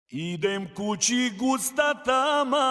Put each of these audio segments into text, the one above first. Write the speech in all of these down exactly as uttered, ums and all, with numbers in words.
Idem kući gusta tama.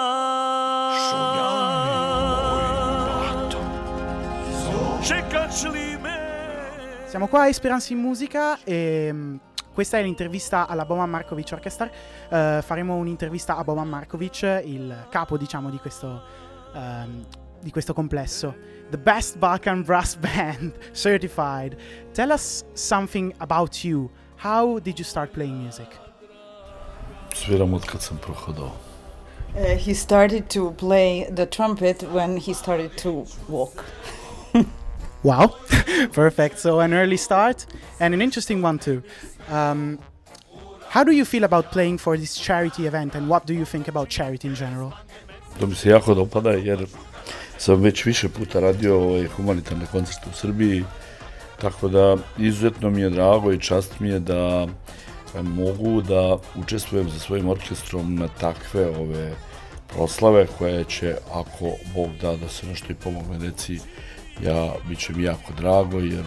Čekaš li me? Siamo qua a Esperanza in Musica e mh, questa è l'intervista alla Boban Markovic Orchestra. Uh, faremo un'intervista a Boban Markovic, il capo, diciamo, di questo, um, di questo complesso. The Best Balkan Brass Band certified. Tell us something about you. How did you start playing music? Sviram od kad sam prohodao. Uh, he started to play the trumpet when he started to walk. Wow, perfect. So an early start and an interesting one too. Um, how do you feel about playing for this charity event and what do you think about charity in general? To mi se jako dopada jer sam već više puta radio ovaj humanitarne koncerte u Srbiji, tako da izuzetno mi je drago i čast mi je da mogu da učestvujem sa svojim orkestrom na takve ove proslave koje će, ako Bog da da se nešto i pomogne deci, ja, bit će mi jako drago jer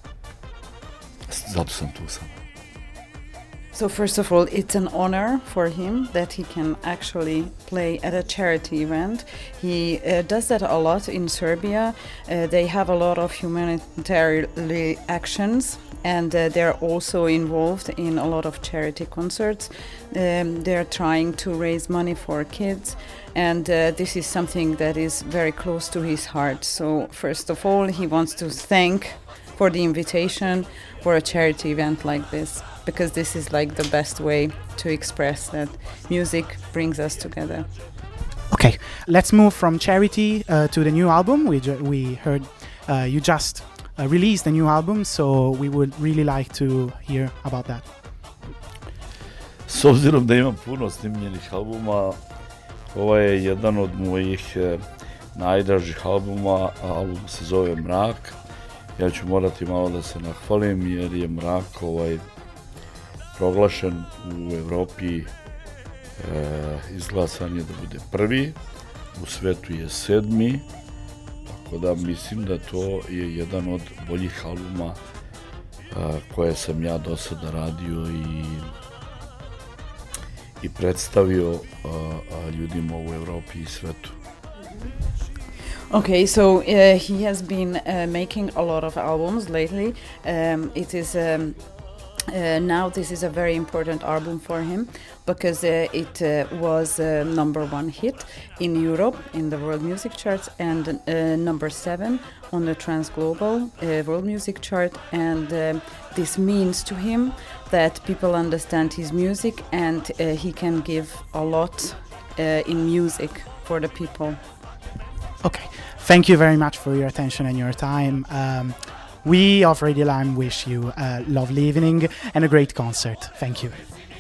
zato sam tu sam. So first of all, it's an honor for him that he can actually play at a charity event. He uh, does that a lot in Serbia. Uh, they have a lot of humanitarian actions and uh, they're also involved in a lot of charity concerts. Um, they're trying to raise money for kids and uh, this is something that is very close to his heart. So first of all, he wants to thank for the invitation for a charity event like this, because this is like the best way to express that music brings us together. Okay, let's move from charity uh, to the new album. We ju- we heard uh, you just uh, released a new album, so we would really like to hear about that. S obzirom da imam puno snimljenih albuma, ovo je jedan od mojih eh, najdražih albuma, album se zove Mrak. Ja ću morati malo da se nahvalim jer je Mrak ovaj proglašen u Evropi, e, izglasan je da bude prvi, u svetu je sedmi, tako da mislim da to je jedan od boljih albuma e, koje sam ja do sada radio i, i predstavio a, a ljudima u Evropi i svetu. Okay, so uh, he has been uh, making a lot of albums lately. Um, it is um, uh, now this is a very important album for him because uh, it uh, was uh, number one hit in Europe in the world music charts and uh, number seven on the Trans Global uh, world music chart. And um this means to him that people understand his music and uh, he can give a lot uh, in music for the people. Okay, thank you very much for your attention and your time. Um, we of Radio Lime wish you a lovely evening and a great concert. Thank you.